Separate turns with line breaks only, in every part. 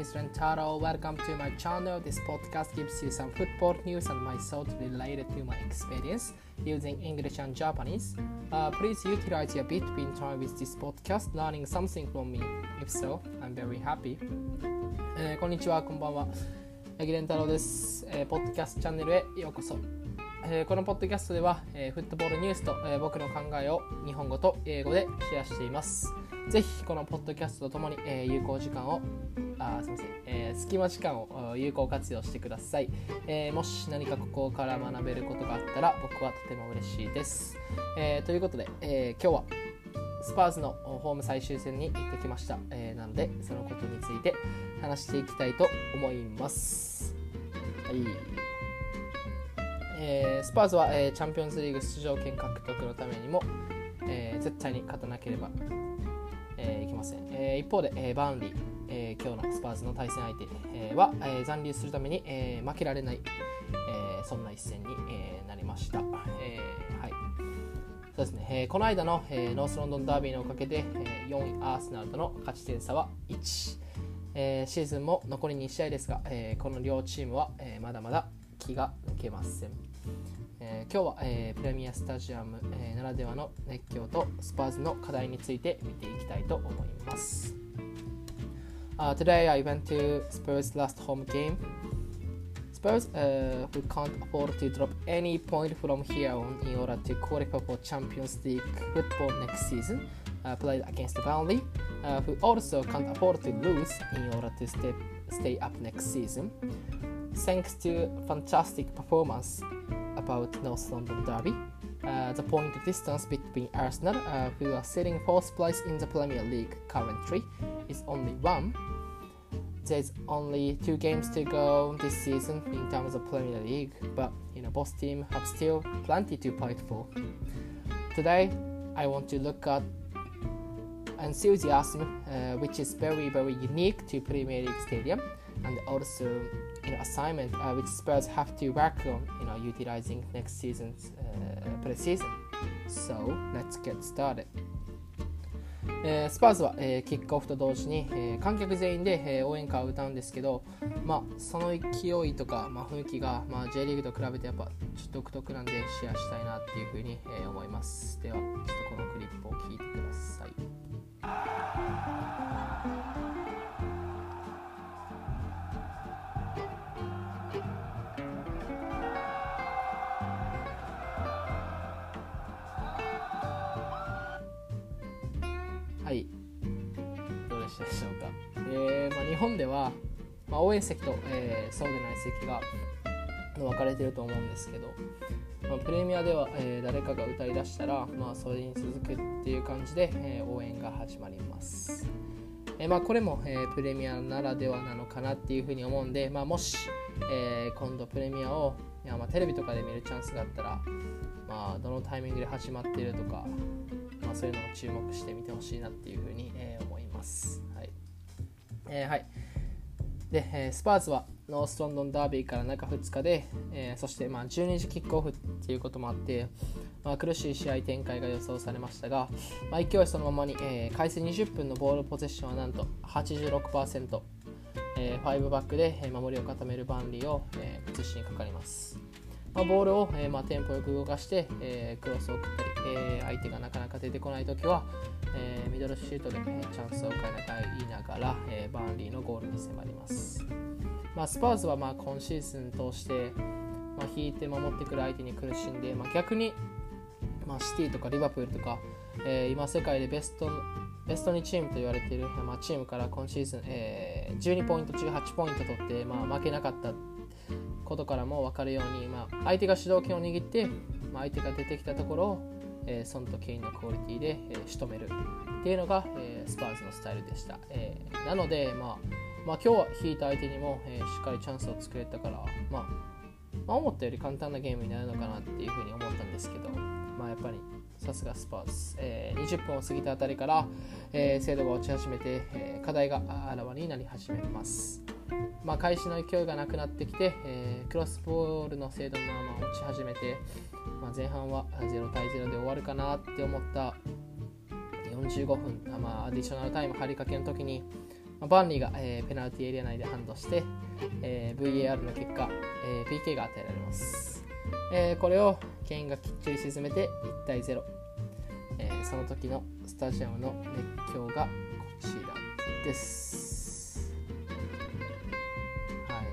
is Rentaro. Welcome to my channel. This podcast gives you some football news and my thoughts related to my experience using English and Japanese. Please utilize your between time with this podcast, learning something from me. If so, I'm very happy. こんにちは、こんばんは。八木蓮太郎です。ポッドキャストチャンネルへようこそ。このポッドキャストでは、フットボールニュースと、僕の考えを日本語と英語でシェアしています。ぜひこのポッドキャストとともに、有効時間を隙間時間を有効活用してください。もし何かここから学べることがあったら僕はとても嬉しいです。ということで、今日はスパーズのホーム最終戦に行ってきました。なのでそのことについて話していきたいと思います。はい。スパーズは、チャンピオンズリーグ出場権獲得のためにも、絶対に勝たなければ、いけません。一方で、バーンリー、今日のスパーズの対戦相手、は、残留するために、負けられない、そんな一戦に、なりました。はい。そうですね。この間の、ノースロンドンダービーのおかげで、4位アーセナルとの勝ち点差は1。シーズンも残り2試合ですが、この両チームは、まだまだ気が抜けません。今日は、プレミアスタジアム、ならではの熱狂とスパーズの課題について見ていきたいと思います。Today I went to Spurs' last home game. Spurs, who can't afford to drop any point from here on in order to qualify for Champions League football next season, played against Burnley, who also can't afford to lose in order to stay up next season.Thanks to fantastic performance about North London Derby, the point distance between Arsenal, who are sitting fourth place in the Premier League currently, is only 1. There's only 2 games to go this season in terms of Premier League, but both teams have still plenty to fight for. Today, I want to look at enthusiasm, which is very, very unique to Premier League Stadium.And also, assignment which Spurs have to work on, utilizing next season's pre-season. So let's get started. スパーズは、キックオフと同時に、観客全員で、応援歌を歌うんですけど、その勢いとか、雰囲気が、J リーグと比べてやっぱちょっと独特なんでシェアしたいなっていうふうに、思います。ではちょっとこのクリップを聞いてください。はい、どうでしたでしょうか。日本では、応援席と、そうでない席が分かれていると思うんですけど、プレミアでは、誰かが歌い出したら、それに続くっていう感じで、応援が始まります。これも、プレミアならではなのかなっていうふうに思うんで、もし、今度プレミアをテレビとかで見るチャンスがあったら、どのタイミングで始まっているとか、そういうのを注目してみてほしいなっていうふうに、思います。はい。はい。で、スパーズはノースロンドンダービーから中2日で、そして12時キックオフっていうこともあって、苦しい試合展開が予想されましたが、勢いそのままに、開始20分のボールポゼッションはなんと 86%、5バックで守りを固めるバンリーを、崩しにかかります。ボールを、テンポよく動かして、クロスを送ったり、相手がなかなか出てこないときは、ミドルシュートで、チャンスを変えながら、バーンリーのゴールに迫ります。スパーズは今シーズン通して、引いて守ってくる相手に苦しんで、逆に、シティとかリバプールとか、今世界でベスト2チームと言われている、チームから今シーズン、12ポイント中8ポイント取って、負けなかったことからも分かるように、相手が主導権を握って、相手が出てきたところを、ソンとケインのクオリティで、仕留めるっていうのが、スパーズのスタイルでした。なので、今日は引いた相手にも、しっかりチャンスを作れたから、思ったより簡単なゲームになるのかなっていうふうに思ったんですけど、やっぱりさすがスパーズ、20分を過ぎたあたりから、精度が落ち始めて、課題があらわになり始めます。開始の勢いがなくなってきて、クロスボールの精度のまま落ち始めて、前半は0対0で終わるかなって思った45分、アディショナルタイム張りかけの時に、 バンリーが、ペナルティエリア内でハンドして、VAR の結果、PK が与えられます。これをケインがきっちり沈めて1対0、その時のスタジアムの熱狂がこちらです。はい。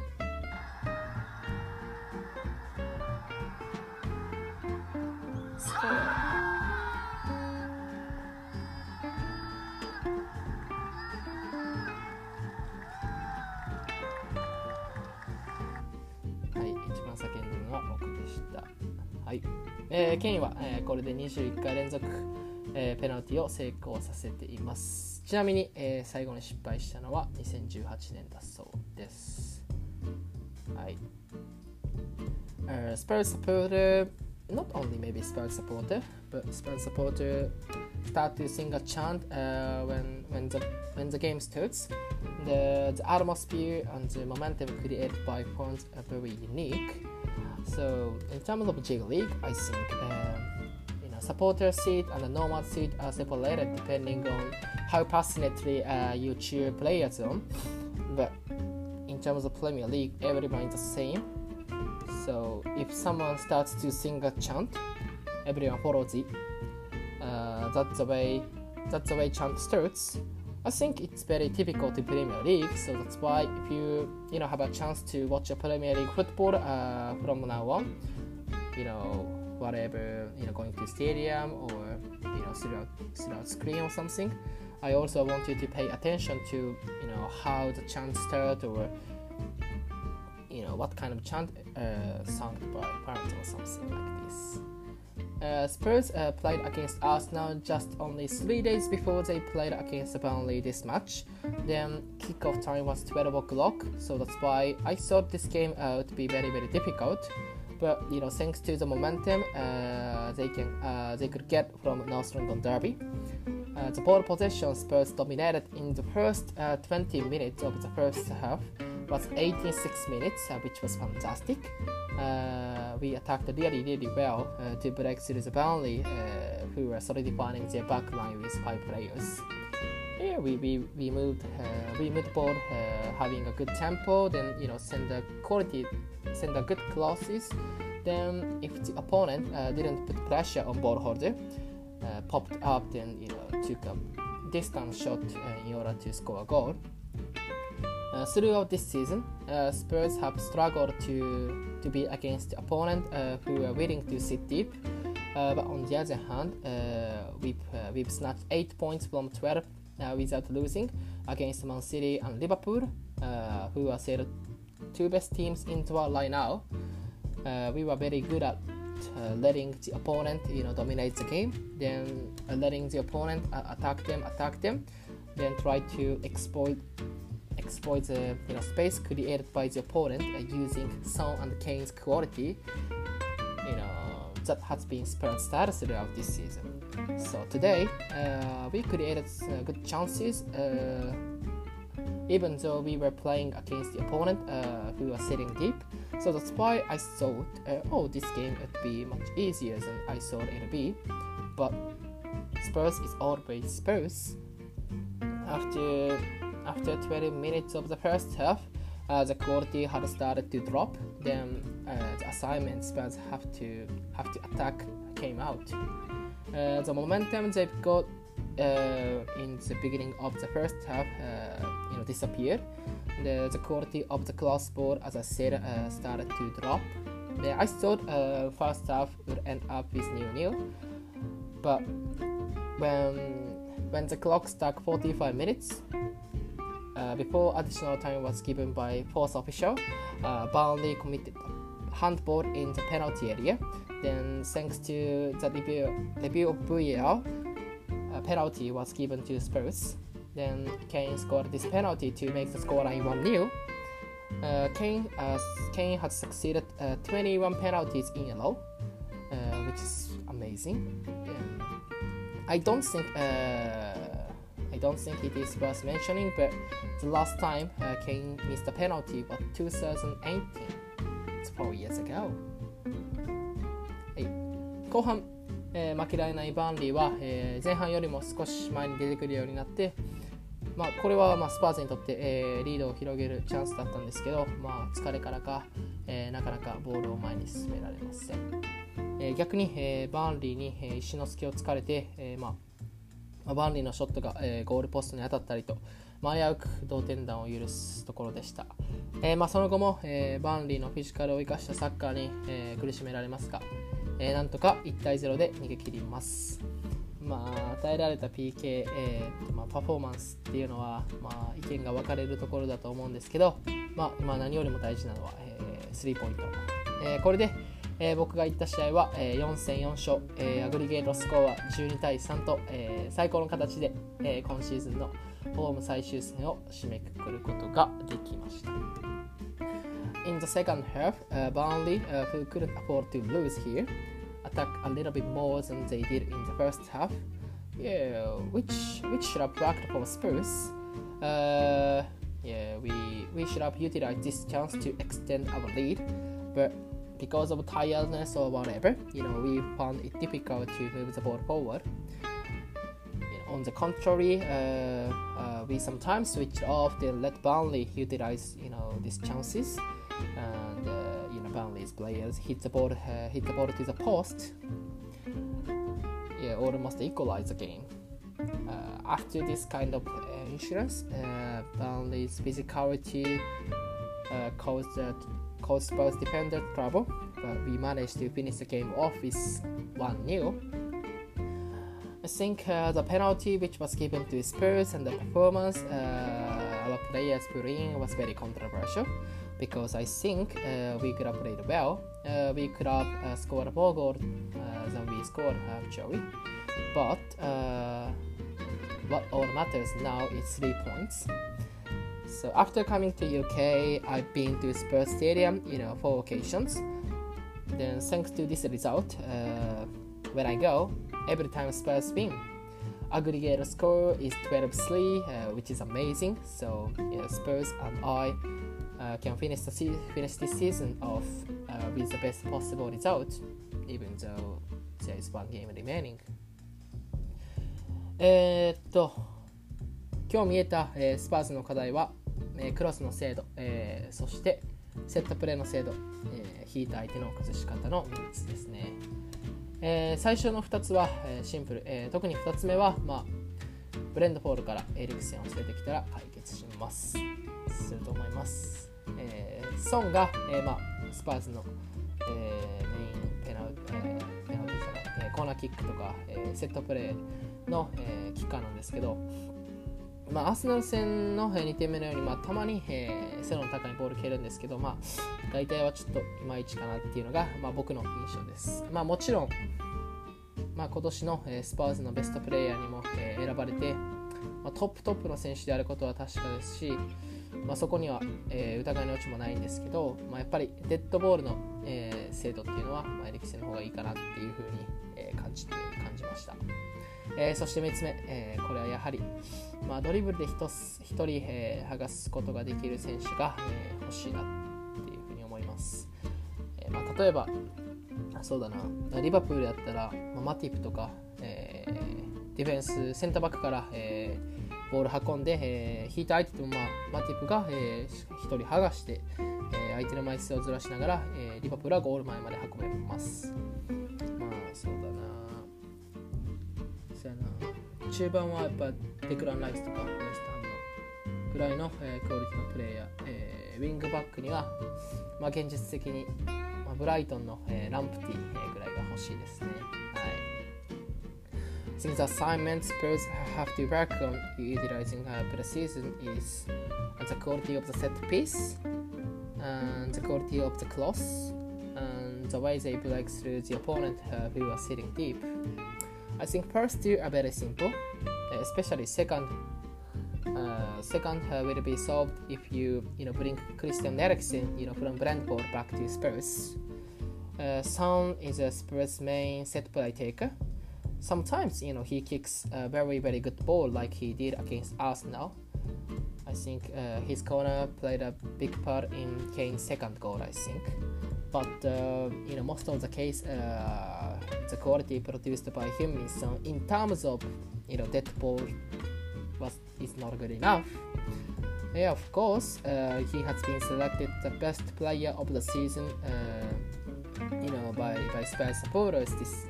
はい、一番叫んでるのは僕でした。はい。ケインは、これで21回連続、ペナルティを成功させています。ちなみに、最後に失敗したのは2018年だそうです。はい。Spurs supporter, not only maybe Spurs supporter, but Spurs supporter start to sing a chant when the game starts. The atmosphere and the momentum created by points are very unique. So in terms of J League, I think supporter seat and the normal seat are separated depending on how passionately you cheer players on. But in terms of Premier League, everyone is the same. So if someone starts to sing a chant, everyone follows it. That's the way chant starts. I think it's very typical to Premier League, so that's why if you have a chance to watch a Premier League football from now on, whatever, going to stadium or throughout screen or something, I also want you to pay attention to how the chant start, or what kind of chant sung by parents or something like this. Spurs played against Arsenal just only 3 days before they played against Burnley this match. Then kickoff time was 12 o'clock, so that's why I thought this game would be very, very difficult. But thanks to the momentum they could get from North London Derby, the ball possession Spurs dominated in the first 20 minutes of the first half was 86 minutes, which was fantastic. We attacked really, really well to break through the Burnley, who were solidifying their back line with 5 players. Yeah, we moved the ball, having a good tempo, then send a good crosses. Then if the opponent didn't put pressure on ball holder, popped up, then took a distance shot in order to score a goal. Throughout this season, Spurs have struggled to be against the opponent who are willing to sit deep. But on the other hand, we've snatched 8 points from 12 without losing against Man City and Liverpool, who are the 2 best teams in the world right now. We were very good at letting the opponent dominate the game, then letting the opponent attack them, then try to exploit the space created by the opponent using Son and Kane's quality. That has been Spurs' style throughout this season. So today we created good chances, even though we were playing against the opponent who was sitting deep. So that's why I thought, this game would be much easier than I thought it would be. But Spurs is always Spurs. After 20 minutes of the first half, the quality had started to drop. Then the assignment Spurs have to attack came out. The momentum they've got in the beginning of the first half, disappeared. The quality of the cross ball, as I said, started to drop. I thought first half would end up with 0-0, but when the clock struck 45 minutes, before additional time was given by fourth official, Burnley committed handball in the penalty area. Then, thanks to the review of VAR, a penalty was given to Spurs. Then Kane scored this penalty to make the scoreline 1-0. Kane had succeeded 21 penalties in a row, which is amazing. I don't think it is worth mentioning, but the last time Kane missed a penalty was 2018. It's 4 years ago. はい、後半、負けられないバーンリーは、前半よりも少し前に出てくるようになって、 これはスパーズにとって、リードを広げるチャンスだったんですけど、疲れからか、なかなかボールを前に進められません。逆に、バーンリーに、石の隙を突かれて、バーンリーのショットが、ゴールポストに当たったりと、危うく同点弾を許すところでした。その後も、バーンリーのフィジカルを生かしたサッカーに、苦しめられますが、なんとか1対0で逃げ切ります。与えられた PK、パフォーマンスっていうのは、意見が分かれるところだと思うんですけど、今何よりも大事なのは、スリーポイント。これで、僕が行った試合は、4戦4勝、アグリゲートスコアは12対3と、最高の形で、今シーズンのホーム最終戦を締めくくることができました。In the second half, Burnley, who couldn't afford to lose here, attacked a little bit more than they did in the first half, which should have worked for Spurs. We should have utilized this chance to extend our lead, but because of tiredness or whatever, we found it difficult to move the ball forward. On the contrary, we sometimes switched off to let Burnley utilize, these chances, and Burnley's players hit the ball to the post, almost equalize the game. After this kind of insurance, Burnley's physicality caused Spurs defender trouble, but we managed to finish the game off with 1-0. I think the penalty which was given to Spurs and the performance our players put in was very controversial, because I think we could have played well. We could have scored more goals than we scored actually, but what all matters now is 3 points. So after coming to UK, I've been to Spurs Stadium, 4 occasions. Then thanks to this result, when I go, every time Spurs win. Aggregate score is 12-3, which is amazing. So Spurs and I can finish this season off with the best possible result, even though there is 1 game remaining. 今日見えた、スパーズの課題は、クロスの精度、そしてセットプレーの精度、引いた相手の崩し方の3つですね。最初の2つは、シンプル、特に2つ目は、ブレンドフォールからエリクセンを連れてきたら解決すると思います。ソンが、スパーズの、メインペナルティーコーナーキックとか、セットプレーの、キッカーなんですけど、アーセナル戦の2点目のように、たまに、背の高いボール蹴るんですけど、大体はちょっといまいちかなっていうのが、僕の印象です。もちろん、今年の、スパーズのベストプレイヤーにも、選ばれて、トップの選手であることは確かですし、そこには、疑いの余地もないんですけど、やっぱりデッドボールの、精度っていうのは、エリクセンの方がいいかなっていうふうに、感じました。そして3つ目、これはやはり、ドリブルで1人、剥がすことができる選手が、欲しいなっていうふうに思います。例えばそうだな、リバプールだったら、マティプとか、ディフェンスセンターバックから、ボール運んで、引いた相手とも、マティプが、1人剥がして、相手の枚数をずらしながら、リバプールはゴール前まで運べます。そうだな、中盤はやっぱデクラン・ライスとかウェストハムのぐらいの、クオリティのプレイヤー、ウィングバックには、現実的に、ブライトンの、ランプティ、ぐらいが欲しいですね。Since the assignment Spurs have to work on utilizing pre-season is the quality of the set piece, and the quality of the cross, and the way they break through the opponent who are sitting deep. I think first two are very simple, especially second will be solved if you bring Christian Eriksen from Brentford back to Spurs. Son is a Spurs main set play taker. Sometimes he kicks a very good ball like he did against Arsenal. I think his corner played a big part in Kane's second goal, I think. But most of the case, the quality produced by him is in terms of dead ball is not good enough. Yeah, of course, he has been selected the best player of the season, by Spurs supporters.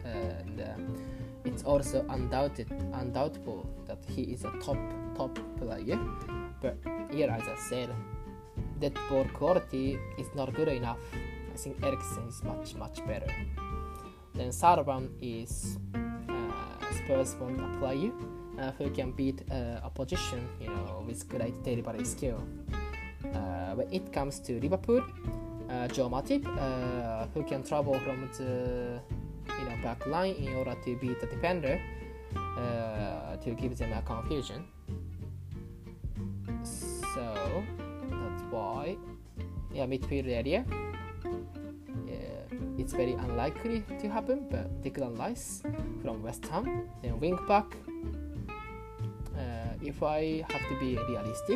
It's also undoubtable that he is a top player. But here, as I said, that ball quality is not good enough. I think Eriksen is much better. Then third one is Spurs want a player who can beat opposition, with great delivery skill. When it comes to Liverpool, Joe Matip, who can travel from the back line in order to beat the defender, to give them a confusion. So that's why, midfield area, it's very unlikely to happen. But Declan Rice from West Ham, then wing back. If I have to be realistic,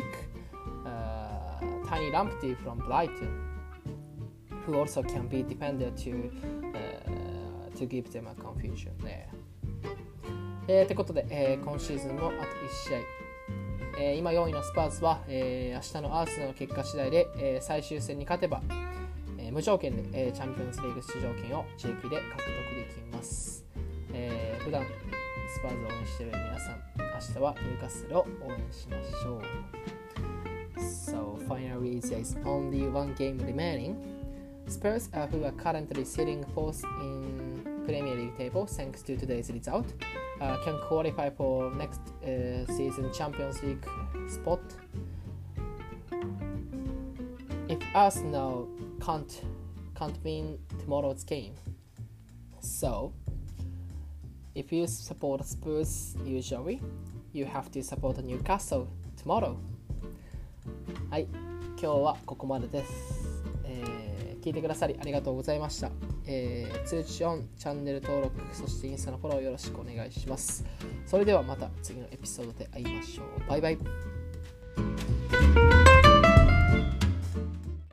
Tiny Lamptey from Brighton, who also can be defender to give them a confusion there. ってことで、今シーズンのあと1試合、今4位のスパーズは、明日のアーセナルの結果次第で、最終戦に勝てば、無条件で、チャンピオンズリーグ出場権を自力で獲得できます。普段スパーズを応援している皆さん、明日はニューカッスルを応援しましょう。So finally there is only one game remaining. Spurs, who are currently sitting fourth in Premier League table thanks to today's result, can qualify for next season Champions League spot. If Arsenal can't win tomorrow's game, so if you support Spurs usually, you have to support Newcastle tomorrow. はい、今日はここまでです。聞いてくださりありがとうございました。通知オン、チャンネル登録、そしてインスタのフォローよろしくお願いします。それではまた次のエピソードで会いましょう。バイバイ。